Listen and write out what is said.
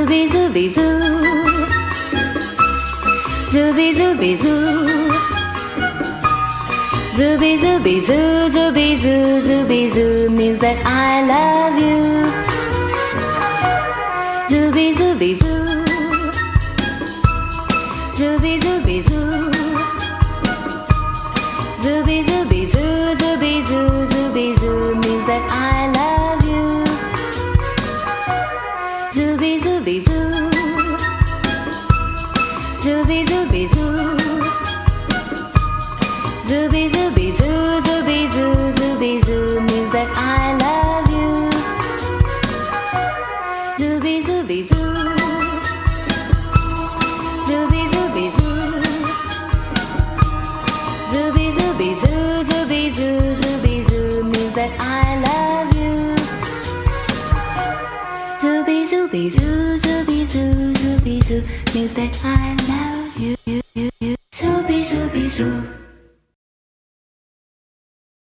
Zooby zooby zoo. Zooby zooby zoo. Zooby zooby zoo, zooby zoo, zooby zoo means that I love you. Zooby zooby zoo. Zooby zooby zoo. Zooby zooby zoo, zooby zoo, zooby zoo means that I love you. Zooby zooby zoo. Zooby zooby zoo. Zooby zooby zoo, zooby zoo, zooby zoo means that I love you. Zooby zooby zoo. Zooby zooby zoo. Zooby zooby zoo, zooby zoo, zooby zoo means that I love you. Zooby zooby zoo, zooby zoo, zooby zoo means that I love you. Zooby zooby zoo.